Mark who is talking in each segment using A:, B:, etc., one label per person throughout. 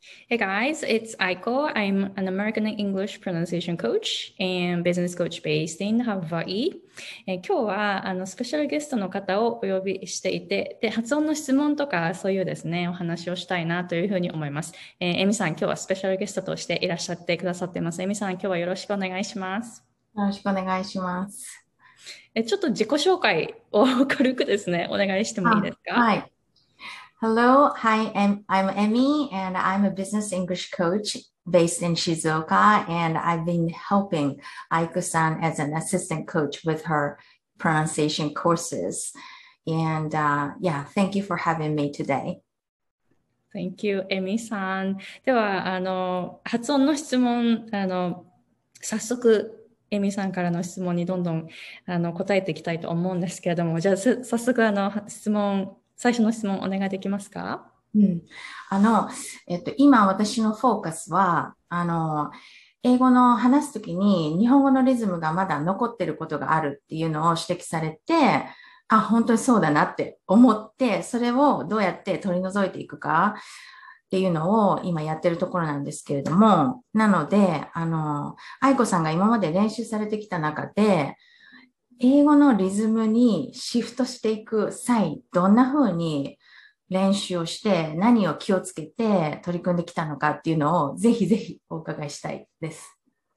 A: Hey guys, it's Aiko. I'm an American English pronunciation coach and business coach based in Hawaii. 今日はスペシャルゲストの方をお呼びしていて、で発音の質問とかそういうですね、お話をしたいなというふうに思います。エミさん、今日はスペシャルゲストとしていらっしゃってくださってます。エミさん、今日はよろしくお願いします。
B: よろしくお願いします。
A: ちょっと自己紹介を軽くですね、お願いしてもいいですか？
B: はい。Hello, hi, I'm Emmy, and I'm a business English coach based in Shizuoka, and I've been helping Aiko-san as an assistant coach with her pronunciation courses. And yeah, thank you for having me today.
A: Thank you, エミさん。では、発音の質問、早速、エミさんからの質問にどんどん答えていきたいと思うんですけれども、じゃあ、早速最初の質問お願いできますか？
B: うん、あの、今私のフォーカスは、英語の話すときに日本語のリズムがまだ残ってることがあるっていうのを指摘されて、あ、本当にそうだなって思って、それをどうやって取り除いていくかっていうのを今やってるところなんですけれども、なので、愛子さんが今まで練習されてきた中で、英語のリズムにシフトしていく際、どんな風に練習をして何を気をつけて取り組んできたのかっていうのをぜひぜひお伺いしたいです。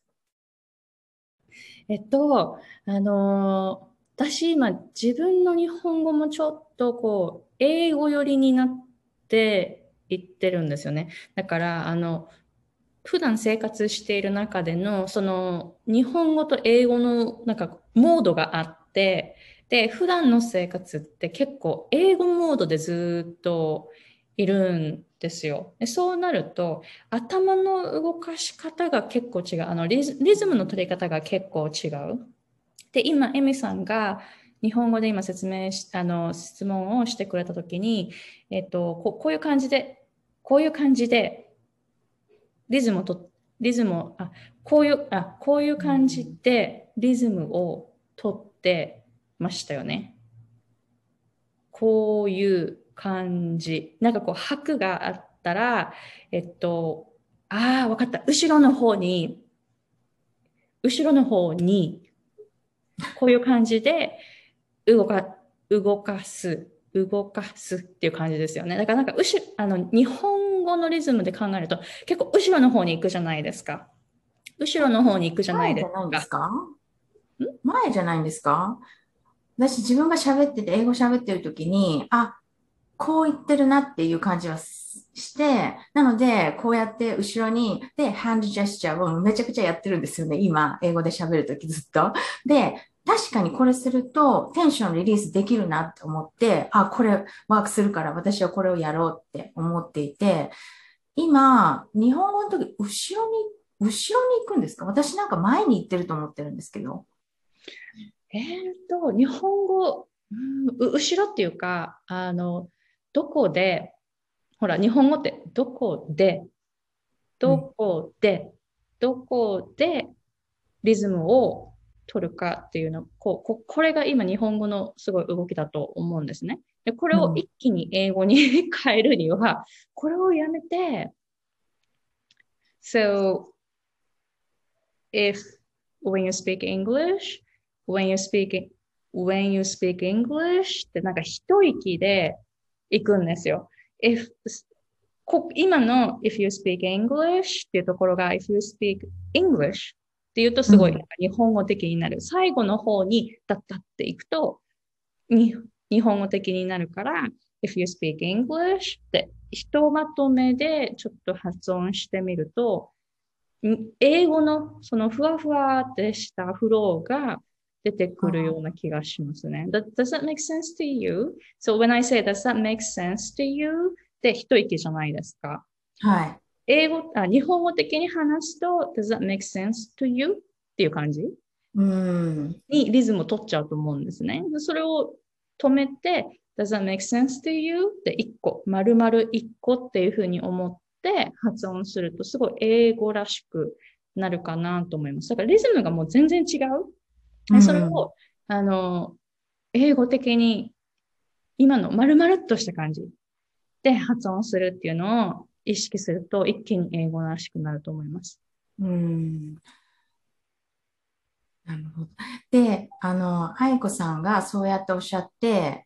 A: えっと、あの、私今自分の日本語もちょっと英語寄りになっていってるんですよね。だから、普段生活している中での、その、日本語と英語の、モードがあって、で、普段の生活って結構、英語モードでずっといるんですよ。でそうなると、頭の動かし方が結構違う。リズムの取り方が結構違う。で、今、エミさんが、日本語で今説明し、質問をしてくれたときに、こういう感じで、こういう感じで、リズムをと、リズムを、こういう
B: う
A: 感じ
B: ん、
A: でリズムをとってましたよね。こういう感じ。拍があったら、わかった。後ろの方に、こういう感じで動か、動かすっていう感じですよね。だから日本語のリズムで考えると、結構後ろの方に行くじゃないですか。後ろの方に行くじゃないです
B: 前じゃないんです
A: か。
B: か？前じゃないんですか？私自分が喋ってて、英語喋ってる時に、あ、こう言ってるなっていう感じはして、なので、こうやって後ろに、で、ハンドジェスチャーをめちゃくちゃやってるんですよね。今、英語で喋るときずっと。で、確かにこれするとテンションリリースできるなって思って、あ、これワークするから私はこれをやろうって思っていて、今、日本語の時、後ろに行くんですか？私なんか前に行ってると思ってるんですけど。
A: 日本語、後ろっていうか、どこで、ほら、日本語って
B: うん。
A: どこで、どこでリズムを取るかっていうの、これが今日本語のすごい動きだと思うんですね。で、これ
B: うん。
A: を一気に英語に変えるには、これをやめて、So if when you speak English, when you speak, when you speak English って一息で行くんですよ。If 今の if you speak English っていうところが if you speak English っていうとすごい
B: うん。
A: 日本語的になる。最後の方にだったっていくとに日本語的になるから if you speak English ってひとまとめでちょっと発音してみると英語のそのふわふわってしたフローが出てくるような気がしますね。Does that make sense to you? So when I say does that make sense to you? って一息じゃないですか。
B: はい。
A: 日本語的に話すと does that make sense to you? っていう感じ
B: うん。
A: にリズムを取っちゃうと思うんですね。それを止めて does that make sense to you? って一個、丸々一個っていうふうに思って発音するとすごい英語らしくなるかなと思います。だからリズムがもう全然違
B: う
A: う。それ
B: ん。
A: を、英語的に今の丸々っとした感じで発音するっていうのを意識すると一気に英語らしくなると思います。
B: うん。なるほど。で、愛子さんがそうやっておっしゃって、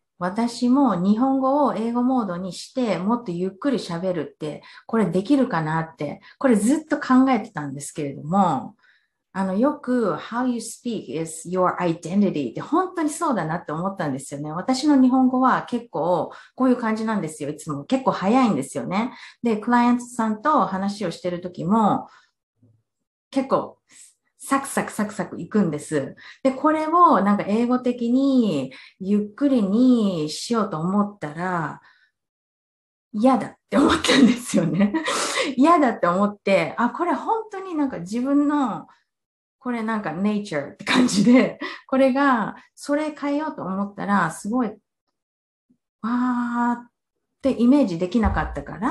B: 私も日本語を英語モードにして、もっとゆっくり喋るって、これできるかなって、これずっと考えてたんですけれども、よく how you speak is your identity って本当にそうだなって思ったんですよね。私の日本語は結構こういう感じなんですよ。いつも結構早いんですよね。で、クライアントさんと話をしてるときも結構サクサクサクサクいくんです。で、これをなんか英語的にゆっくりにしようと思ったら嫌だって思ったんですよね。嫌だって思って、あ、これ本当になんか自分のこれなんか nature って感じで、これが、それ変えようと思ったら、すごい、わーってイメージできなかったから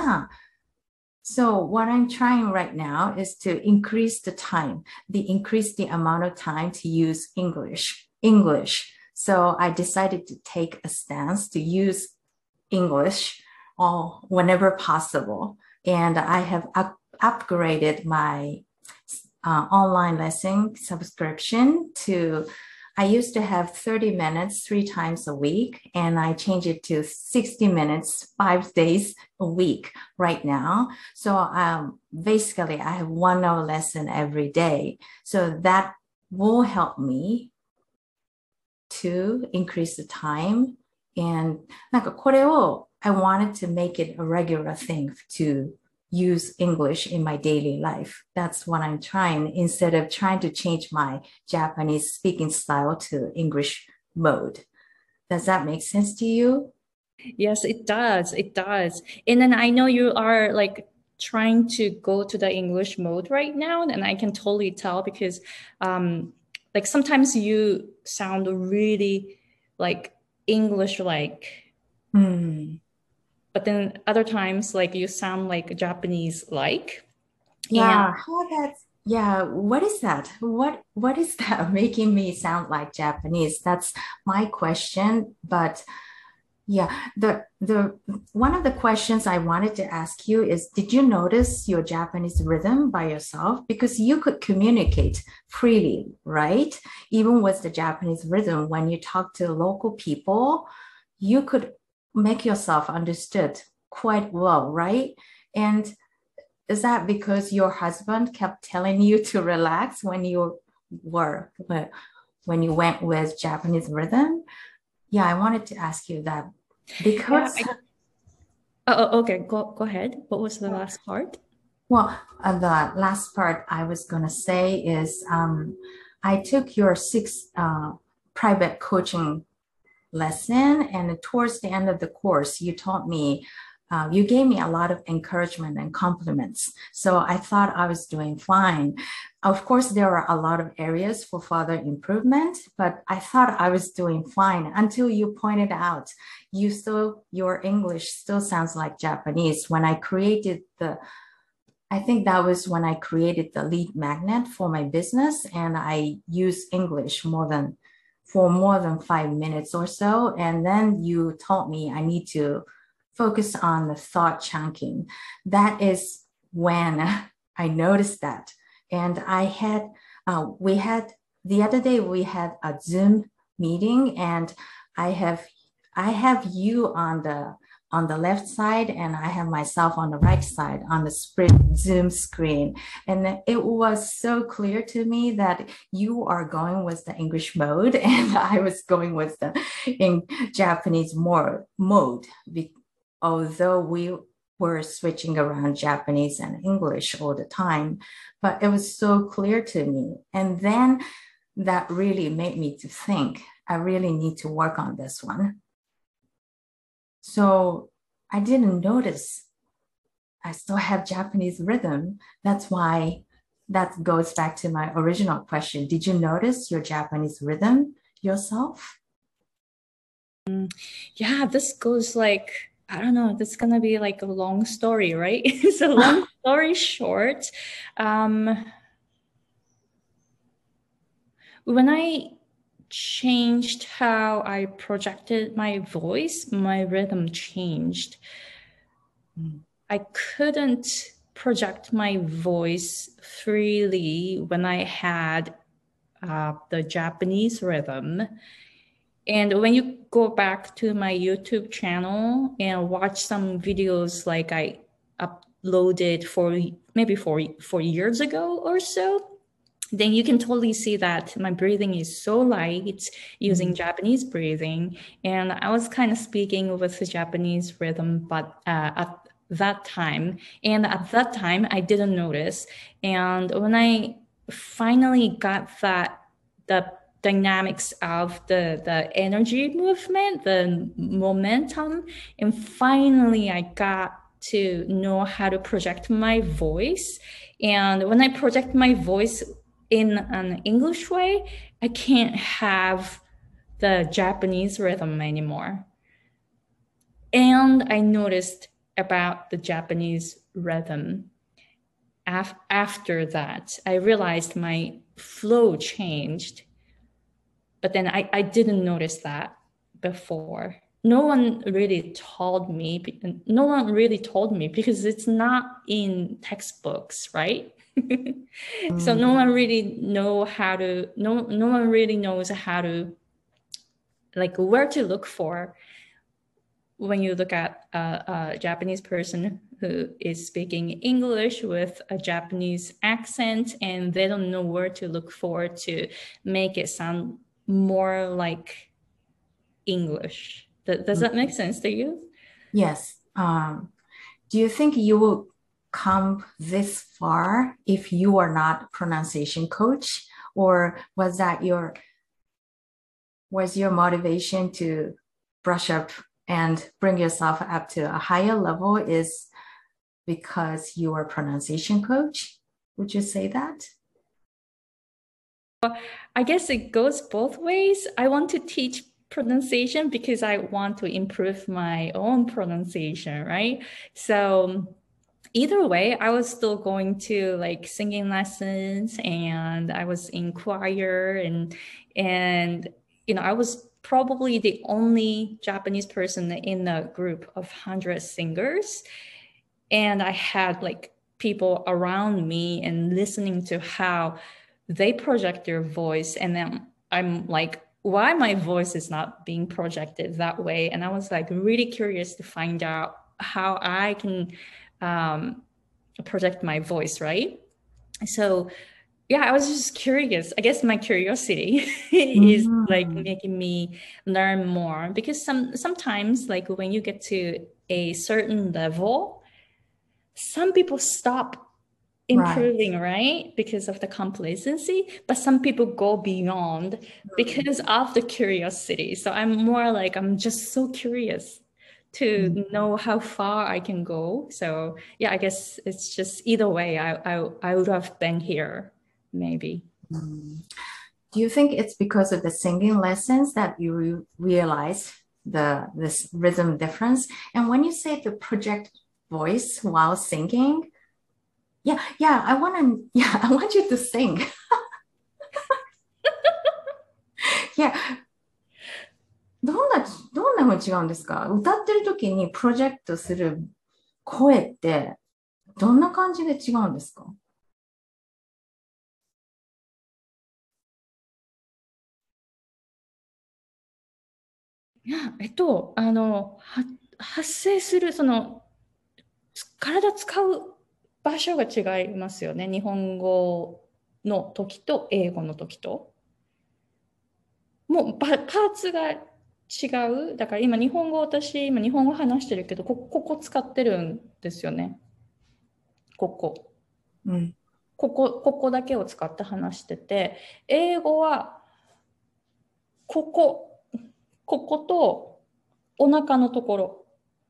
B: 、So what I'm trying right now is to increase the time, increase the amount of time to use English. So I decided to take a stance to use English whenever possible. And I have upgraded my online lesson subscription to I used to have 30 minutes 3 times a week, and I changed it to 60 minutes 5 days a week right now. So basically, I have 1 hour lesson every day. So that will help me to increase the time. And なんかこれを I wanted to make it a regular thing to use English in my daily life. That's what I'm trying instead of trying to change my Japanese speaking style to English mode. Does that make sense to you?
A: Yes, it does. It does. And then I know you are like trying to go to the English mode right now, and I can totally tell because like sometimes you sound really like English like,
B: Hmm.
A: but then other times like you sound like Japanese like. And
B: Yeah, how that's yeah, what is that? What is that making me sound like Japanese? That's my question. But yeah, the one of the questions I wanted to ask you is, did you notice your Japanese rhythm by yourself? Because you could communicate freely, right? Even with the Japanese rhythm, when you talk to local people, you could make yourself understood quite well, right? And is that because your husband kept telling you to relax when you were when you went with Japanese rhythm? Yeah, I wanted to ask you that
A: yeah,
B: because
A: okay, go ahead. What was the last part?
B: well, the last part I was gonna say is I took your 6 private coaching lesson. And towards the end of the course, you taught me, you gave me a lot of encouragement and compliments. So I thought I was doing fine. Of course, there are a lot of areas for further improvement, but I thought I was doing fine until you pointed out your English still sounds like Japanese. I think that was when I created the lead magnet for my business, and I use English more than 5 minutes or so. And then you told me I need to focus on the thought chunking. That is when I noticed that. And we had, the other day we had a Zoom meeting, and I have, I have you on the left side, and I have myself on the right side on the Zoom screen. And it was so clear to me that you are going with the English mode and I was going with the in Japanese mode. Although we were switching around Japanese and English all the time, but it was so clear to me. And then that really made me to think I really need to work on this one. So I didn't notice I still have Japanese rhythm. That's why that goes back to my original question. Did you notice your Japanese rhythm yourself?
A: Yeah, this goes like, I don't know, this is gonna be like a long story, right? So long story short, um, when I changed how I projected my voice, my rhythm changed. I couldn't project my voice freely when I had the Japanese rhythm. And when you go back to my YouTube channel and watch some videos like I uploaded maybe 4 years ago or so, then you can totally see that my breathing is so light using Japanese breathing. And I was kind of speaking with the Japanese rhythm, but at that time, I didn't notice. And when I finally got the dynamics of the energy movement, the momentum, and finally I got to know how to project my voice. And when I project my voice in an English way, I can't have the Japanese rhythm anymore. And I noticed about the Japanese rhythm. After that, I realized my flow changed, but then I didn't notice that before. No one really told me because it's not in textbooks, right? So no one really knows how to, like, where to look for when you look at a Japanese person who is speaking English with a Japanese accent, and they don't know where to look for to make it sound more like English. Does that make sense to you?
B: Yes. Do you think you will come this far if you are not a pronunciation coach? Or was your motivation to brush up and bring yourself up to a higher level is because you are a pronunciation coach? Would you say that?
A: I guess it goes both ways. I want to teach pronunciation because I want to improve my own pronunciation, right? So either way, I was still going to like singing lessons, and I was in choir, and I was probably the only Japanese person in a group of 100 singers. And I had like people around me and listening to how they project their voice. And then I'm like, why my voice is not being projected that way? And I was like really curious to find out how I can project my voice, right? So yeah, I was just curious. I guess my curiosity is like making me learn more, because sometimes like when you get to a certain level, some people stop improving, right? Because of the complacency, but some people go beyond because of the curiosity. So I'm more like, I'm just so curious to know how far I can go. So yeah, I guess it's just either way, I would have been here, maybe.
B: Do you think it's because of the singing lessons that you realized this rhythm difference? And when you say the project voice while singing, I want you to sing. Yeah.どんな風に違うんですか？歌ってる時にプロジェクトする声ってどんな感じで違うんですか？
A: いや、発生する、体使う場所が違いますよね。日本語の時と英語の時と。もうパーツが違う。だから今今日本語話してるけど、ここ使ってるんですよね。ここ。ここだけを使って話してて、英語はこことお腹のところ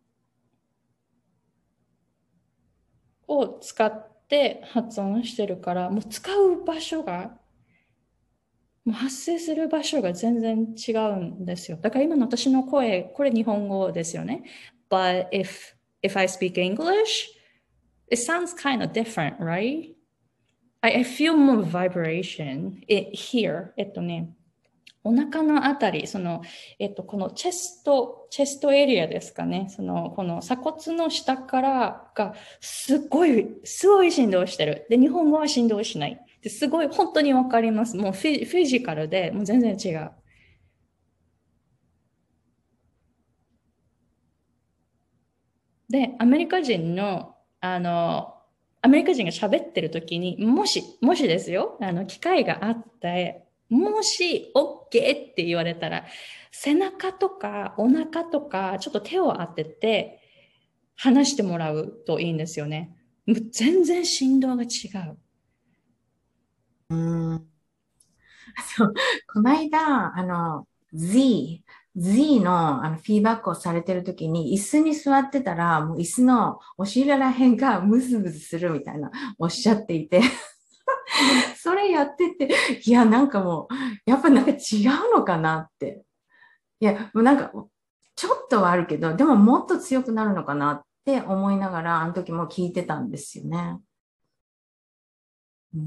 A: を使って発音してるから、もう使う場所が、もう発生する場所が全然違うんですよ。だから今の私の声、これ日本語ですよね。But if I speak English, it sounds kind of different, right? I feel more vibration here. お腹のあたり、このチェストエリアですかね。この鎖骨の下からがすごい振動してる。で、日本語は振動しない。ですごい、本当にわかります。もうフィジカルで、もう全然違う。で、アメリカ人が喋ってる時に、もしですよ、機会があって、もし OK って言われたら、背中とかお腹とか、ちょっと手を当てて話してもらうといいんですよね。全然振動が違う。
B: うん。そう、この間、Z の、フィーバックをされてる時に、椅子に座ってたら、もう椅子のお尻ら辺がムズムズするみたいな、おっしゃっていて、それやってて、いや、なんかもう、やっぱなんか違うのかなって。いや、もうなんか、ちょっとはあるけど、でももっと強くなるのかなって思いながら、あの時も聞いてたんですよね。うん。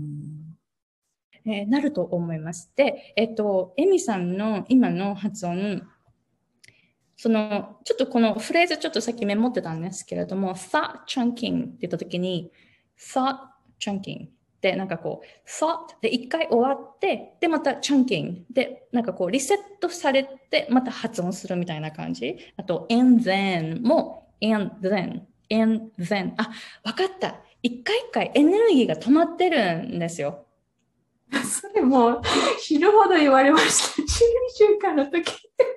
A: なると思います。で、エミさんの今の発音、ちょっとこのフレーズちょっとさっきメモってたんですけれども、thought chunking って言ったときに、thought chunking で、なんかこう、thought で一回終わって、で、また chunking で、なんかこう、リセットされて、また発音するみたいな感じ。あと、and then も、and then。あ、わかった。一回一回エネルギーが止まってるんですよ。
B: それも死ぬほど言われました。中週間の時。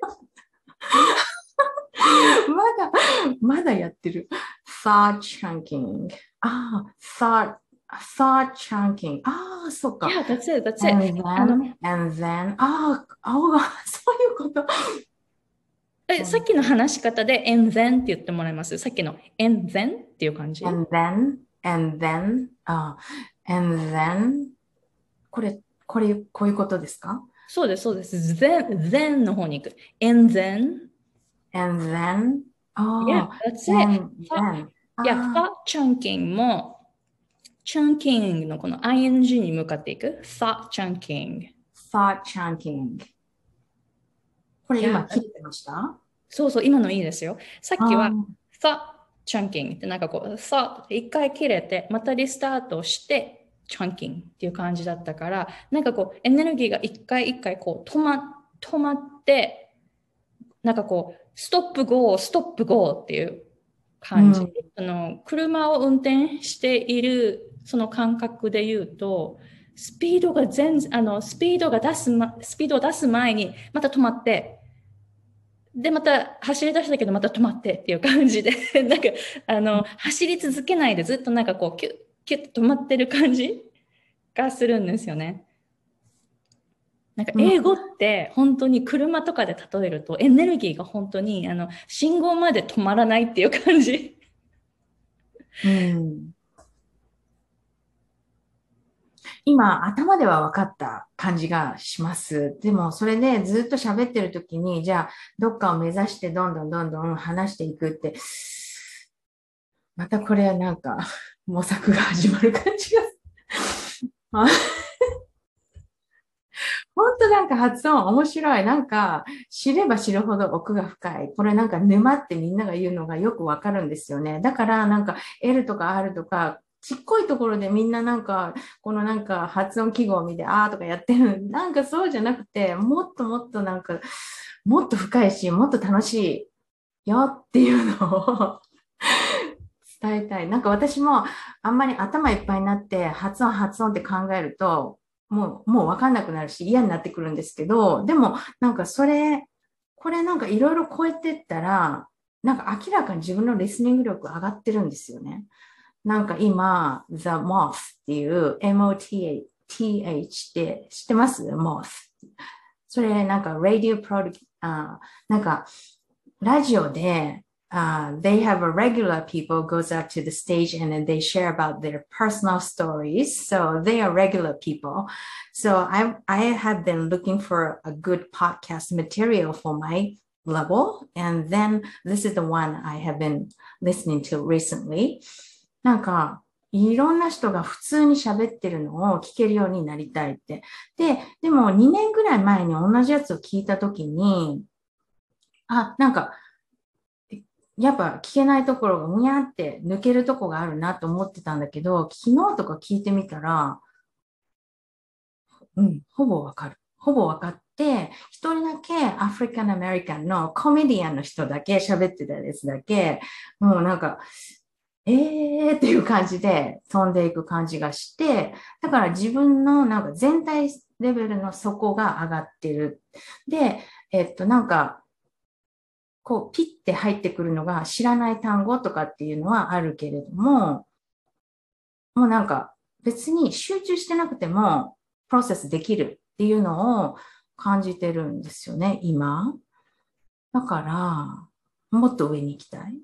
B: まだやってる。thought chunking。thought chunking。そっか。
A: Yeah, that's it, that's it.
B: and then、そういうこと。
A: さっきの話し方で and then って言ってもらいます。さっきの and then っていう感じ。
B: and then、こういうことですか？
A: そうです、そうです。then の方に行く。and then,
B: and then、
A: yeah, that's it.
B: and then、
A: thought chunking も、chunking のこの ing に向かっていく。thought chunking。
B: thought chunking。これ今切れてました？
A: そうそう、今のいいですよ。さっきは
B: あー
A: thought chunking ってなんかこう、thought って一回切れて、またリスタートして、chunking っていう感じだったから、なんかこう、エネルギーが一回一回こう止まって、なんかこう、ストップゴーっていう感じ。車を運転しているその感覚で言うと、スピードを出す前に、また止まって、で、また走り出したけど、また止まってっていう感じで、なんか、走り続けないでずっとなんかこう、キュッ、キュッと止まってる感じがするんですよね。なんか英語って本当に車とかで例えるとエネルギーが本当に信号まで止まらないっていう感じ。
B: 今、頭では分かった感じがします。でも、それでずっと喋ってる時に、じゃあ、どっかを目指してどんどんどんどん話していくって、またこれはなんか、模索が始まる感じが。本当なんか発音面白い。なんか知れば知るほど奥が深い。これなんか沼ってみんなが言うのがよくわかるんですよね。だからなんか L とか R とかちっこいところでみんななんかこのなんか発音記号を見てとかやってる。なんかそうじゃなくてもっともっとなんかもっと深いしもっと楽しいよっていうのを伝えたい。なんか私もあんまり頭いっぱいになって発音って考えるともうわかんなくなるし嫌になってくるんですけど、でもなんかこれなんかいろいろ超えてったら、なんか明らかに自分のリスニング力上がってるんですよね。なんか今、The Moth っていう MOTH って知ってます？ Moth。それなんか Radio Product、なんかラジオでthey have a regular people goes up to the stage and then they share about their personal stories. So they are regular people. So I have been looking for a good podcast material for my level. And then this is the one I have been listening to recently. なんかいろんな人が普通に喋ってるのを聞けるようになりたいって。でも2年ぐらい前に同じやつを聞いたときに、なんか、やっぱ聞けないところがむやって抜けるとこがあるなと思ってたんだけど、昨日とか聞いてみたら、ほぼわかる。ほぼわかって、一人だけアフリカンアメリカンのコメディアンの人だけ喋ってたやつだけ、もうなんか、っていう感じで飛んでいく感じがして、だから自分のなんか全体レベルの底が上がってる。で、なんか、こう、ピッて入ってくるのが知らない単語とかっていうのはあるけれども、もうなんか別に集中してなくてもプロセスできるっていうのを感じてるんですよね、今。だから、もっと上に行きたい。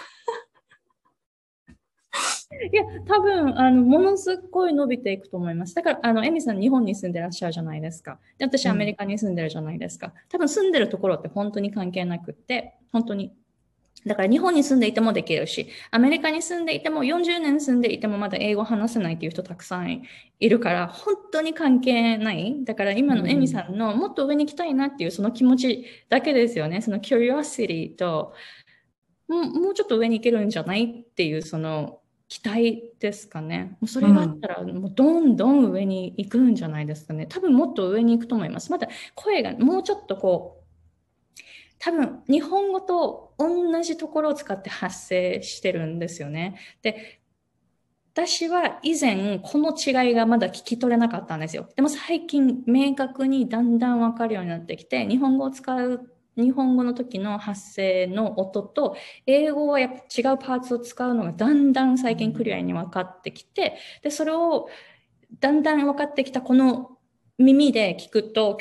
A: いや、多分、ものすごい伸びていくと思います。だから、エミさん、日本に住んでらっしゃるじゃないですか。で、私、アメリカに住んでるじゃないですか。多分、住んでるところって本当に関係なくって、本当に。だから、日本に住んでいてもできるし、アメリカに住んでいても、40年住んでいても、まだ英語話せないっていう人たくさんいるから、本当に関係ない。だから、今のエミさんの、もっと上に行きたいなっていう、その気持ちだけですよね。その curiosity と、もうちょっと上に行けるんじゃないっていう、その期待ですかね。もうそれがあったら、もうどんどん上に行くんじゃないですかね。多分もっと上に行くと思います。また声がもうちょっとこう、多分日本語と同じところを使って発声してるんですよね。で、私は以前この違いがまだ聞き取れなかったんですよ。でも最近明確にだんだんわかるようになってきて、日本語を使う、日本語の時の発声の音と、英語はやっぱ違うパーツを使うのがだんだん最近クリアに分かってきて、で、それをだんだん分かってきたこの耳で聞くと、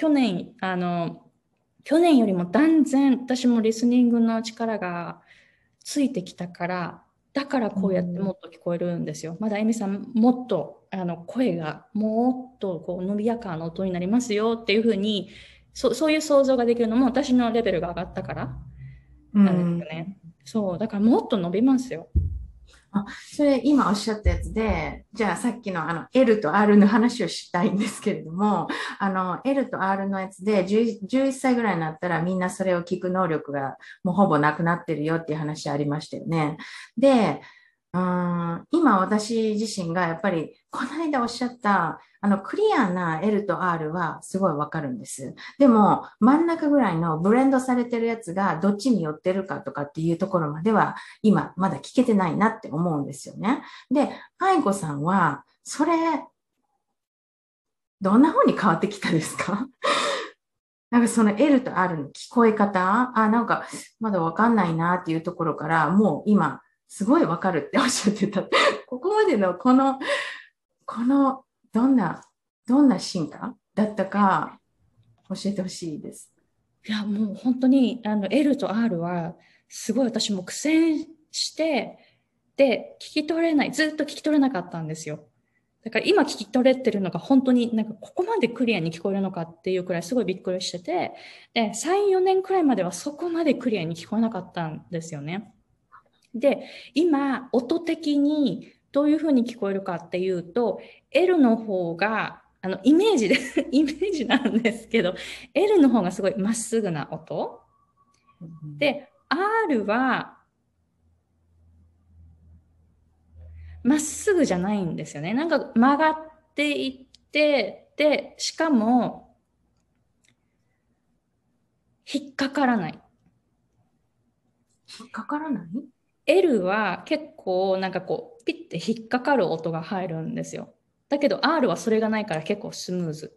A: 去年よりも断然私もリスニングの力がついてきたから、だからこうやってもっと聞こえるんですよ。まだエミさん、もっと声がもっとこう伸びやかな音になりますよっていうふうに、そういう想像ができるのも私のレベルが上がったからなんですよね。そう、だからもっと伸びますよ。
B: それ今おっしゃったやつで、じゃあさっきのL と R の話をしたいんですけれども、L と R のやつで11歳ぐらいになったらみんなそれを聞く能力がもうほぼなくなってるよっていう話ありましたよね。で、今私自身がやっぱりこの間おっしゃったクリアな L と R はすごいわかるんです。でも真ん中ぐらいのブレンドされてるやつがどっちに寄ってるかとかっていうところまでは今まだ聞けてないなって思うんですよね。で、愛子さんはそれどんな風に変わってきたですか？なんかその L と R の聞こえ方、なんかまだわかんないなっていうところから、もう今すごいわかるっておっしゃってた。ここまでのこのどんな、どんな進化だったか教えてほしいです。
A: いや、もう本当にL と R はすごい私も苦戦して、で、聞き取れない、ずっと聞き取れなかったんですよ。だから今聞き取れてるのが本当になんかここまでクリアに聞こえるのかっていうくらいすごいびっくりしてて、で、3、4年くらいまではそこまでクリアに聞こえなかったんですよね。で、今、音的にどういうふうに聞こえるかっていうと、L の方が、イメージでイメージなんですけど、L の方がすごいまっすぐな音。で、R はまっすぐじゃないんですよね。なんか曲がっていって、で、しかも引っかからない。
B: 引っかからない？
A: L は結構なんかこう、ピッて引っかかる音が入るんですよ。だけど R はそれがないから結構スムーズ。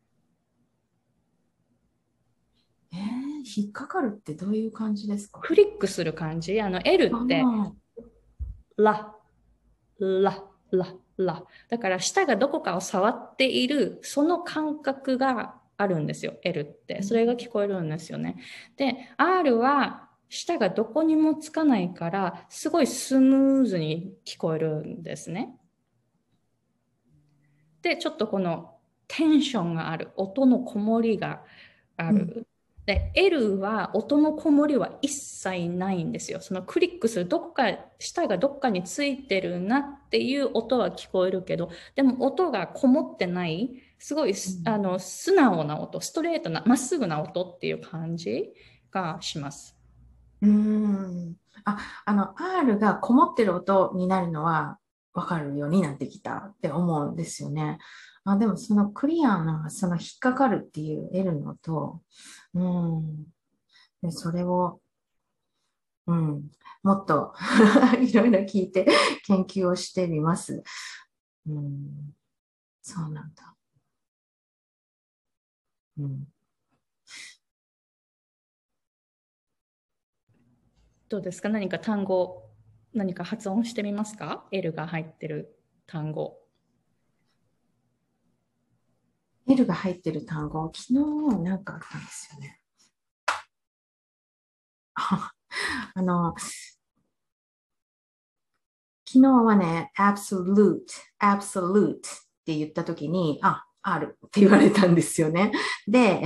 B: 引っかかるってどういう感じですか？
A: クリックする感じ。L って、ラ、ラ、ラ、ラ。だから舌がどこかを触っている、その感覚があるんですよ、L って。それが聞こえるんですよね。で、R は舌がどこにもつかないから、すごいスムーズに聞こえるんですね。で、ちょっとこのテンションがある、音のこもりがある。 で、L は音のこもりは一切ないんですよ。そのクリックする、どこか、舌がどっかについてるなっていう音は聞こえるけど、でも音がこもってない、すごい素直な音、ストレートな、まっすぐな音っていう感じがします。
B: うーん。R がこもってる音になるのはわかるようになってきたって思うんですよね。でもそのクリアな、その引っかかるっていう L のと、うん。で、それを、うん、もっといろいろ聞いて研究をしてみます。うん、そうなんだ。うん、
A: どうですか？何か単語、何か発音してみますか？ L が入ってる単語。
B: L が入ってる単語、昨日なんかあったんですよね。あの、昨日はね、absolute って言ったときに、あるって言われたんですよね。で、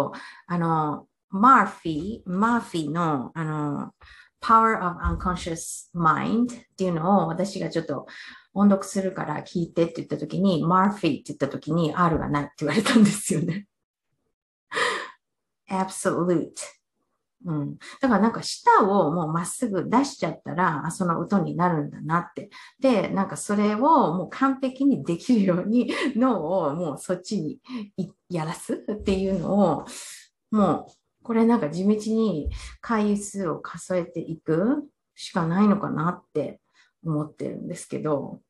B: マーフィーの、Power of Unconscious Mind っていうのを私がちょっと音読するから聞いてって言ったときに、マーフィーって言ったときに R がないって言われたんですよね。absolute。うん。だからなんか舌をもうまっすぐ出しちゃったら、その音になるんだなって。で、なんかそれをもう完璧にできるように脳をもうそっちにやらすっていうのを、もうこれなんか地道に回数を数えていくしかないのかなって思ってるんですけど、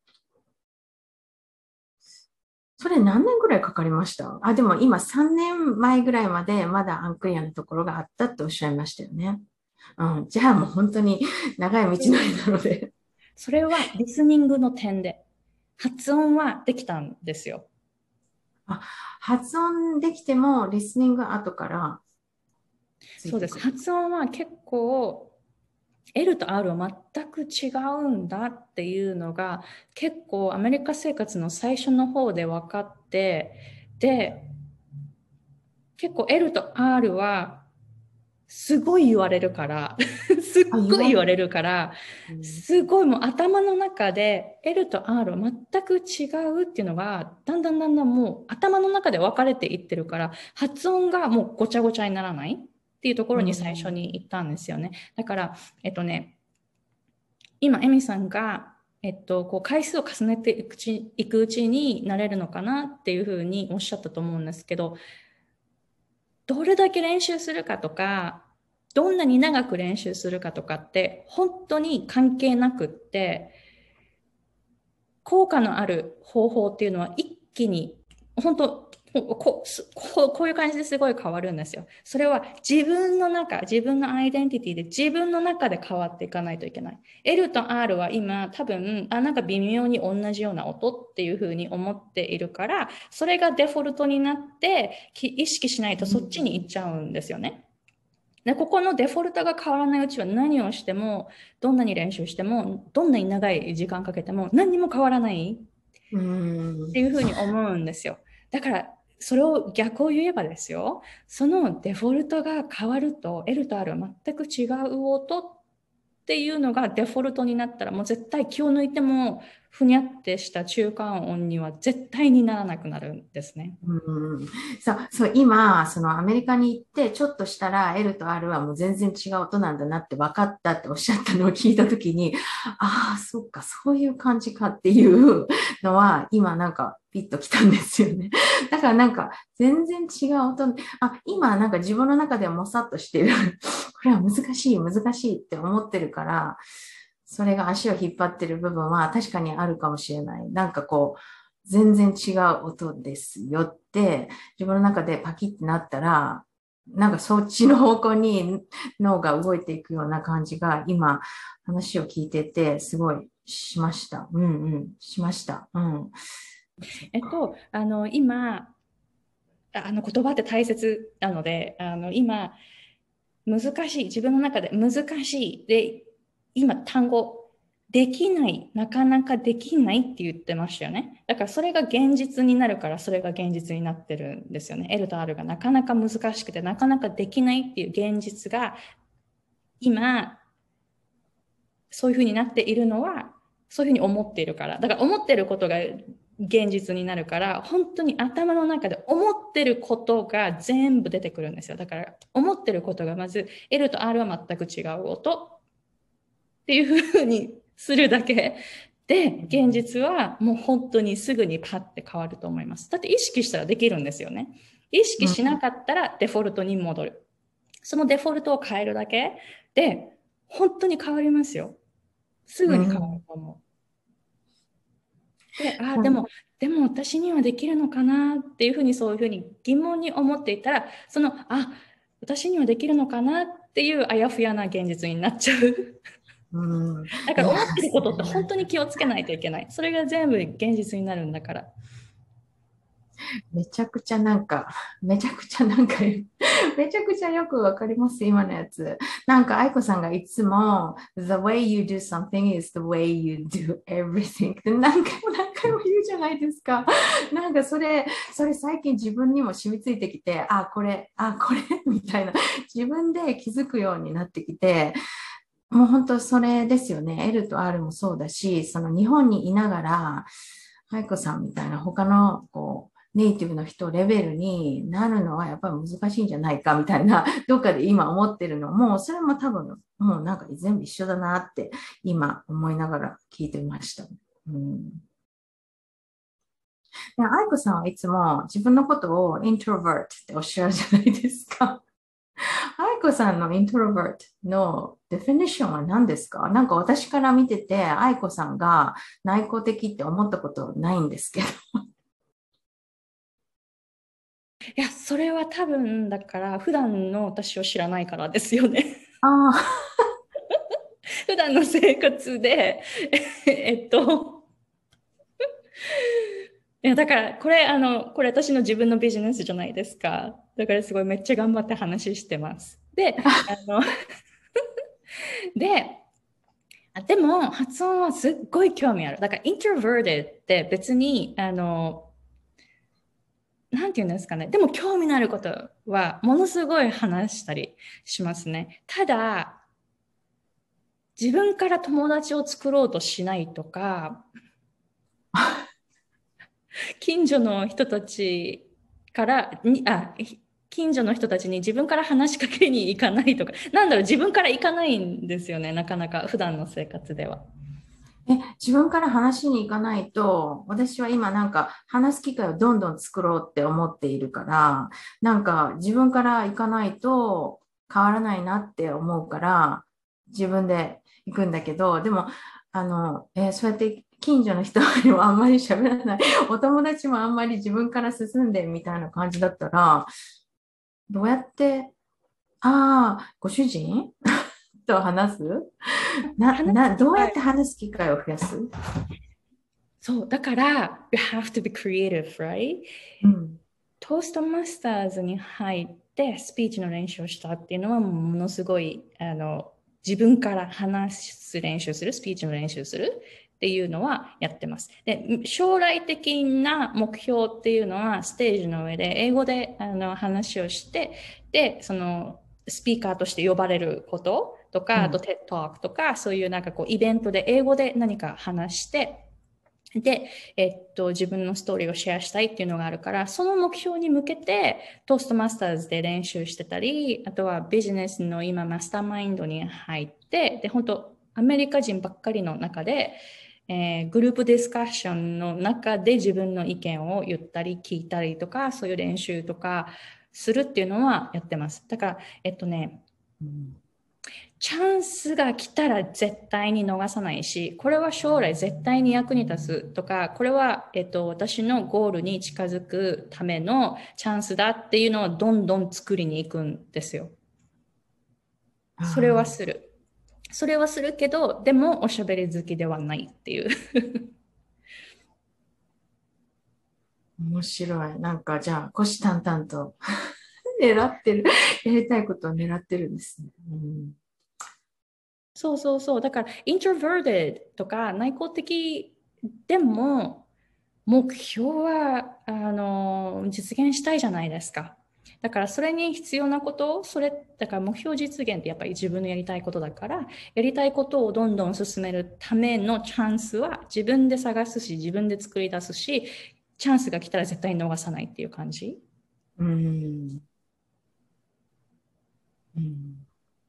B: それ何年ぐらいかかりました？でも今3年前ぐらいまでまだアンクリアなところがあったっておっしゃいましたよね。うん、じゃあもう本当に長い道のりなので。
A: それはリスニングの点で、発音はできたんですよ。
B: あ、発音できてもリスニング後からつい
A: そうです。
B: てくる。
A: 発音は結構 L と R は全く違うんだっていうのが結構アメリカ生活の最初の方で分かって、で、結構 L と R はすごい言われるからすっ
B: 言われる。
A: ごい言われるから、
B: うん、
A: すごいもう頭の中で L と R は全く違うっていうのがだんだんだんだんもう頭の中で分かれていってるから、発音がもうごちゃごちゃにならないっていうところに最初に行ったんですよね。だから今エミさんがこう回数を重ねていくうちになれるのかなっていうふうにおっしゃったと思うんですけど、どれだけ練習するかとか、どんなに長く練習するかとかって本当に関係なくって、効果のある方法っていうのは一気に本当こういう感じですごい変わるんですよ。それは自分の中、自分のアイデンティティで自分の中で変わっていかないといけない。L と R は今多分、なんか微妙に同じような音っていうふうに思っているから、それがデフォルトになって意識しないとそっちに行っちゃうんですよね。で、ここのデフォルトが変わらないうちは何をしても、どんなに練習しても、どんなに長い時間かけても何にも変わらない
B: う
A: って
B: ん。
A: いうふうに思うんですよ。だから、それを逆を言えばですよ、そのデフォルトが変わると、L と R は全く違う音っていうのがデフォルトになったら、もう絶対気を抜いても、ふにゃってした中間音には絶対にならなくなるんですね。
B: うん、そう、今、そのアメリカに行って、ちょっとしたら L と R はもう全然違う音なんだなって分かったっておっしゃったのを聞いたときに、そっか、そういう感じかっていうのは、今なんかピッときたんですよね。だからなんか、全然違う音、今なんか自分の中ではもさっとしてる。これは難しい、難しいって思ってるから、それが足を引っ張ってる部分は確かにあるかもしれない。なんかこう、全然違う音ですよって、自分の中でパキッてなったら、なんかそっちの方向に脳が動いていくような感じが、今、話を聞いてて、すごいしました。うんうん、しました。うん。そっか。
A: 今、言葉って大切なので、今、難しい、自分の中で難しい。で、今、単語。 できない、なかなかできないって言ってましたよね。だからそれが現実になるから、それが現実になってるんですよね。L と R がなかなか難しくて、なかなかできないっていう現実が今、そういうふうになっているのは、そういうふうに思っているから。だから思っていることが現実になるから、本当に頭の中で思ってることが全部出てくるんですよ。だから思ってることがまず L と R は全く違う音っていうふうにするだけで、現実はもう本当にすぐにパッて変わると思います。だって意識したらできるんですよね。意識しなかったらデフォルトに戻る。そのデフォルトを変えるだけで、本当に変わりますよ。すぐに変わると思う。で、でも私にはできるのかなっていうふうに、そういうふうに疑問に思っていたら、私にはできるのかなっていうあやふやな現実になっちゃう。だから思ってることって本当に気をつけないといけない。それが全部現実になるんだから。
B: めちゃくちゃなんか、めちゃくちゃなんか、めちゃくちゃよくわかります、今のやつ。なんか、愛子さんがいつも、The way you do something is the way you do everything って何回も何回も言うじゃないですか。なんかそれ最近自分にも染みついてきて、これ、みたいな、自分で気づくようになってきて、もう本当それですよね。L と R もそうだし、その日本にいながら、愛子さんみたいな他のネイティブの人レベルになるのはやっぱり難しいんじゃないかみたいな、どっかで今思ってるのも、それも多分もうなんか全部一緒だなって今思いながら聞いてました。愛子さんはいつも自分のことをイントロバートっておっしゃるじゃないですか。愛子さんのイントロバートのデフィニッションは何ですか？なんか私から見てて、愛子さんが内向的って思ったことないんですけど。
A: いや、それは多分、だから普段の私を知らないからですよね。普段の生活で、いや、だから、これ私の自分のビジネスじゃないですか。だからすごいめっちゃ頑張って話してます。で、でも発音はすっごい興味ある。だから、introverted って別に、なんて言うんですかね。でも興味のあることはものすごい話したりしますね。ただ、自分から友達を作ろうとしないとか、近所の人たちから近所の人たちに自分から話しかけに行かないとか、自分から行かないんですよね、なかなか普段の生活では。
B: 自分から話しに行かないと、私は今なんか話す機会をどんどん作ろうって思っているから、なんか自分から行かないと変わらないなって思うから、自分で行くんだけど、でも、そうやって近所の人にもあんまり喋らない、お友達もあんまり自分から進んでみたいな感じだったら、どうやって、ご主人と話すどうやって話す機会を増やす？
A: そう、だから、you have to be creative, right? トーストマスターズに入ってスピーチの練習をしたっていうのはものすごい自分から話す練習する、スピーチの練習するっていうのはやってます。で、将来的な目標っていうのはステージの上で英語で話をして、で、そのスピーカーとして呼ばれることとか、あと TED Talk とか、そういうなんかイベントで英語で何か話して、で、自分のストーリーをシェアしたいっていうのがあるから、その目標に向けて、トーストマスターズで練習してたり、あとはビジネスの今、マスターマインドに入って、で、本当アメリカ人ばっかりの中で、グループディスカッションの中で自分の意見を言ったり聞いたりとか、そういう練習とかするっていうのはやってます。だから、チャンスが来たら絶対に逃さないし、これは将来絶対に役に立つとか、これは、私のゴールに近づくためのチャンスだっていうのをどんどん作りに行くんですよ。それはする。それはするけど、でもおしゃべり好きではないっていう。
B: 面白い。なんかじゃあ、虎視眈々と狙ってる、やりたいことを狙ってるんですね。
A: そうそうそう。だから、introverted とか内向的でも、目標は、実現したいじゃないですか。だから、それに必要なこと、だから目標実現ってやっぱり自分のやりたいことだから、やりたいことをどんどん進めるためのチャンスは自分で探すし、自分で作り出すし、チャンスが来たら絶対に逃さないっていう感じ。
B: うん。うん。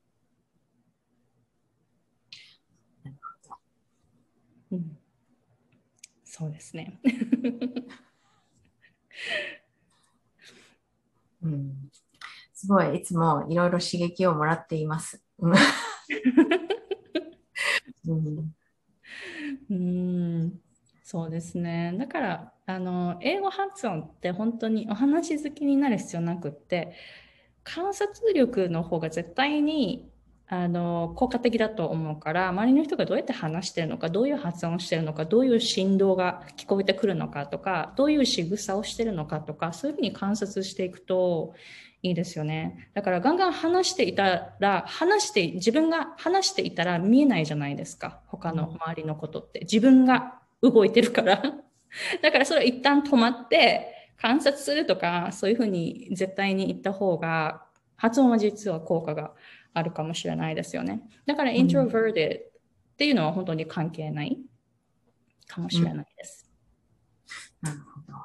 A: うん、そうですね。
B: うん。すごい、いつもいろいろ刺激をもらっています。うん。
A: うーん、そうですね。だから、英語発音って本当にお話好きになる必要なくって、観察力の方が絶対に、効果的だと思うから、周りの人がどうやって話してるのか、どういう発音してるのか、どういう振動が聞こえてくるのかとか、どういう仕草をしてるのかとか、そういうふうに観察していくといいですよね。だからガンガン話していたら、自分が話していたら見えないじゃないですか。他の周りのことって。自分が動いてるから。だからそれは一旦止まって観察するとか、そういうふうに絶対に言った方が、発音は実は効果があるかもしれないですよね。だから
B: うん。
A: introverted っていうのは本当に関係ないかもしれ
B: うん。
A: ないです。
B: なるほど。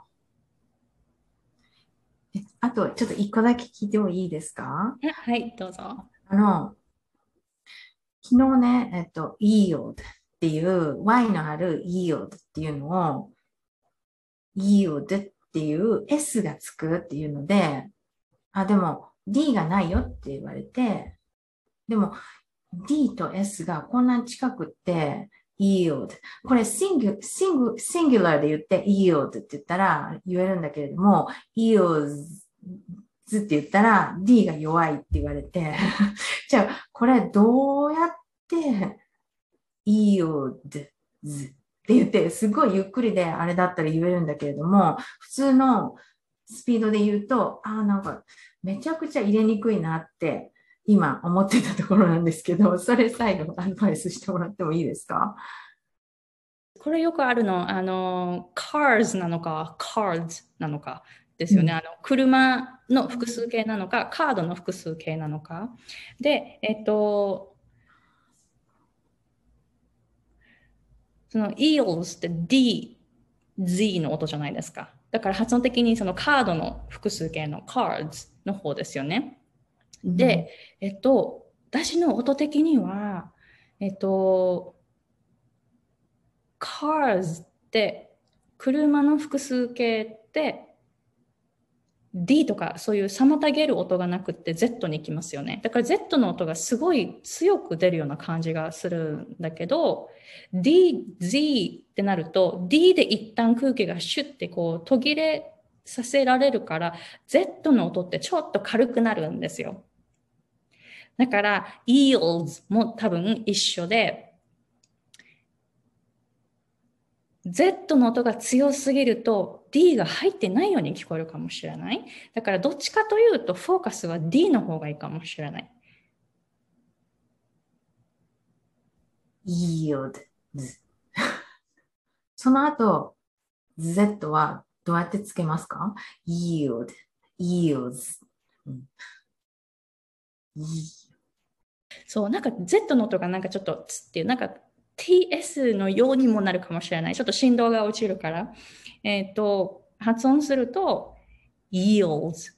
B: あと、ちょっと一個だけ聞いてもいいですか？
A: はい、どうぞ。
B: あの、昨日ね、yield っていう、Y のある yield っていうのを、yield っていう S がつくっていうので、あ、でも D がないよって言われて、でも D と S がこんなに近くって、yield。これシンギュラーで言って yield って言ったら言えるんだけれども、yields って言ったら D が弱いって言われて、じゃあこれどうやって yields って言って、すごいゆっくりであれだったら言えるんだけれども、普通のスピードで言うと、なんかめちゃくちゃ入れにくいなって今思ってたところなんですけど、それ最後アドバイスしてもらってもいいですか？
A: これよくあるの、cars なのか、cards なのかですよね。
B: うん。
A: 車の複数形なのか、カードの複数形なのか。で、その eels って D、Z の音じゃないですか。だから発音的にそのカードの複数形の cards の方ですよね。
B: うん。
A: で、私の音的には、cars って車の複数形って D とかそういう妨げる音がなくって Z に行きますよね。だから Z の音がすごい強く出るような感じがするんだけど、D、Z ってなると D で一旦空気がシュッてこう途切れさせられるから Z の音ってちょっと軽くなるんですよ。だから eels も多分一緒で、Z の音が強すぎると D が入ってないように聞こえるかもしれない。だからどっちかというとフォーカスは D の方がいいかもしれない。
B: yield。その後、Z はどうやってつけますか？ yield, yields。うん。
A: そう、なんか Z の音がなんかちょっとつっていう、なんか TS のようにもなるかもしれない。ちょっと振動が落ちるから。発音すると yields。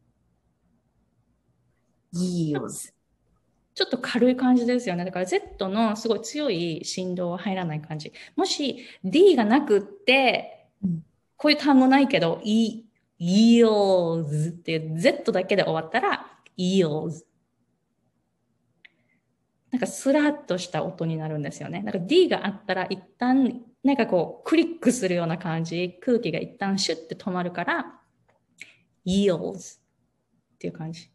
B: yields。
A: ちょっと軽い感じですよね。だから Z のすごい強い振動は入らない感じ。もし D がなくって、
B: うん。
A: こういう単語ないけど、eels っていう Z だけで終わったら eels。なんかスラッとした音になるんですよね。なんか D があったら一旦なんかこうクリックするような感じ、空気が一旦シュッて止まるから eels っていう感じ。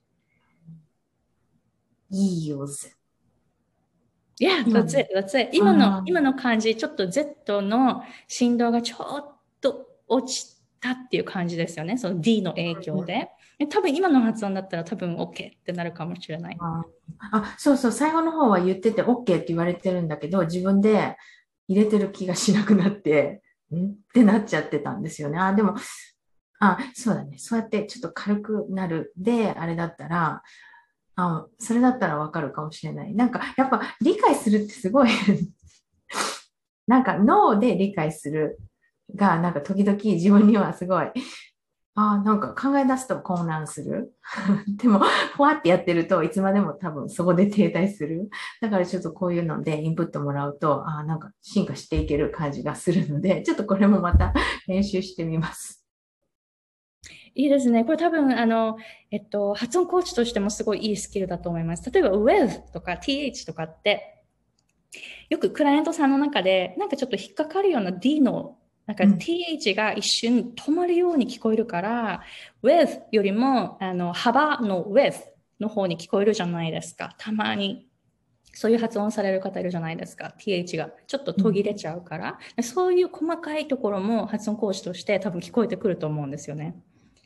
B: yields。
A: Yeah,
B: 今
A: that's
B: の、
A: it, that's it.
B: あ
A: 今の感じ、ちょっと Z の振動がちょっと落ちたっていう感じですよね。その D の影響で。多分今の発音だったら多分 OK ってなるかもしれない。
B: そうそう、最後の方は言ってて OK って言われてるんだけど、自分で入れてる気がしなくなって、ってなっちゃってたんですよね。でも、そうだね。そうやってちょっと軽くなるで、あれだったら、それだったらわかるかもしれない。なんか、やっぱ理解するってすごいなんか脳で理解するが、なんか時々自分にはすごい、なんか考え出すと混乱する。でも、ふわってやってるといつまでも多分そこで停滞する。だからちょっとこういうのでインプットもらうと、なんか進化していける感じがするので、ちょっとこれもまた練習してみます。
A: いいですね。これ多分、発音コーチとしてもすごいいいスキルだと思います。例えば、with とか th とかって、よくクライアントさんの中で、なんかちょっと引っかかるような D の、なんか th が一瞬止まるように聞こえるから、with よりも、幅の with の方に聞こえるじゃないですか。たまに。そういう発音される方いるじゃないですか。th がちょっと途切れちゃうから。そういう細かいところも発音コーチとして多分聞こえてくると思うんですよね。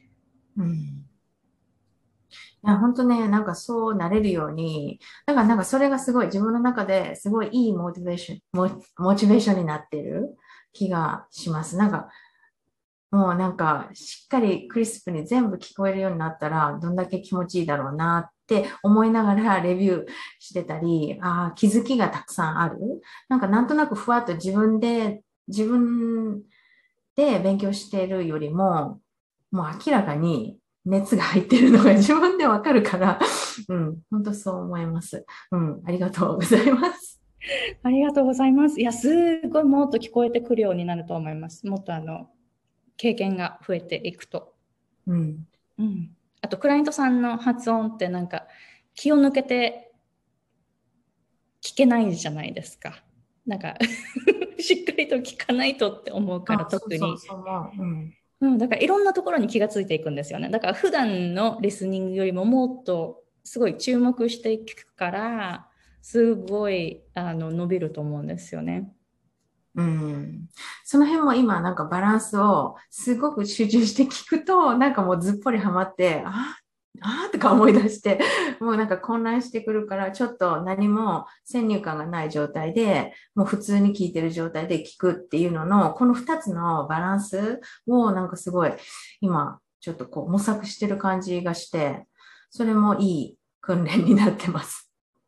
B: いや、本当ね、なんかそうなれるように、だからなんかそれがすごい自分の中ですごいいいモチベーションになってる気がします。なんかもうなんかしっかりクリスプに全部聞こえるようになったらどんだけ気持ちいいだろうなって思いながらレビューしてたり、気づきがたくさんある。なんかなんとなくふわっと自分で勉強しているよりも、もう明らかに熱が入ってるのが自分でわかるから、本当そう思います。ありがとうございます。
A: ありがとうございます。いや、すごいもっと聞こえてくるようになると思います。もっと経験が増えていくと。あと、クライアントさんの発音ってなんか気を抜けて聞けないじゃないですか。なんかしっかりと聞かないとって思うから特に。だからいろんなところに気がついていくんですよね。だから普段のリスニングよりももっとすごい注目していくから、すごい伸びると思うんですよね。
B: その辺も今なんかバランスをすごく集中して聞くと、なんかもうずっぽりハマって、とか思い出して、もうなんか混乱してくるから、ちょっと何も先入観がない状態で、もう普通に聞いてる状態で聞くっていうのの、この二つのバランスをなんかすごい今ちょっとこう模索してる感じがして、それもいい訓練になってます。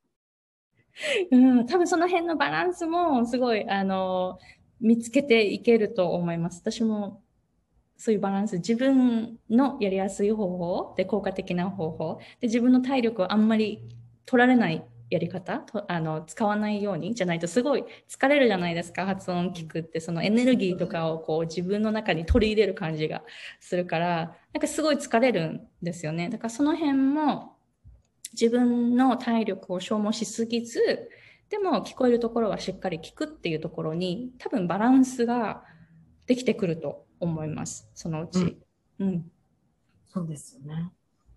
A: 多分その辺のバランスもすごい見つけていけると思います。私もそういうバランス、自分のやりやすい方法で効果的な方法で、自分の体力をあんまり取られないやり方と使わないようにじゃないとすごい疲れるじゃないですか。発音聞くってそのエネルギーとかをこう自分の中に取り入れる感じがするから、なんかすごい疲れるんですよね。だからその辺も自分の体力を消耗しすぎず、でも聞こえるところはしっかり聞くっていうところに多分バランスができてくると思います。そのうち。
B: そうですよね。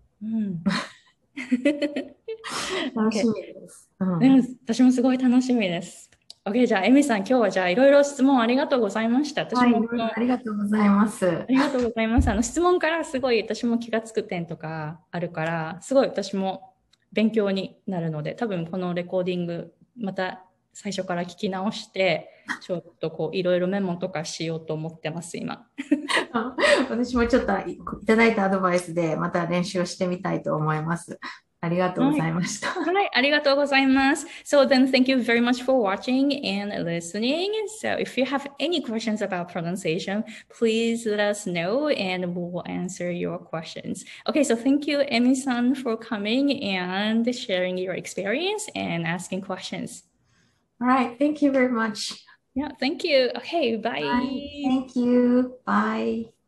B: 楽しみです。
A: 私もすごい楽しみです。OK、じゃあ、エミさん、今日はじゃあ、いろいろ質問ありがとうございました。私も、
B: ありがとうございます。
A: ありがとうございます。質問からすごい私も気がつく点とかあるから、すごい私も勉強になるので、多分このレコーディング、また最初から聞き直して、ちょっとこう、いろいろメモとかしようと思ってます、今。
B: 私もちょっといただいたアドバイスでまた練習をしてみたいと思います。ありがとうございました。
A: はい、ありがとうございます。So then thank you very much for watching and listening. So if you have any questions about pronunciation, please let us know and we'll answer your questions. Okay, so thank you, Emi-san, for coming and sharing your experience and asking questions.
B: All right, thank you very much.
A: Yeah, thank you. Okay, bye.
B: Bye. Thank you. Bye.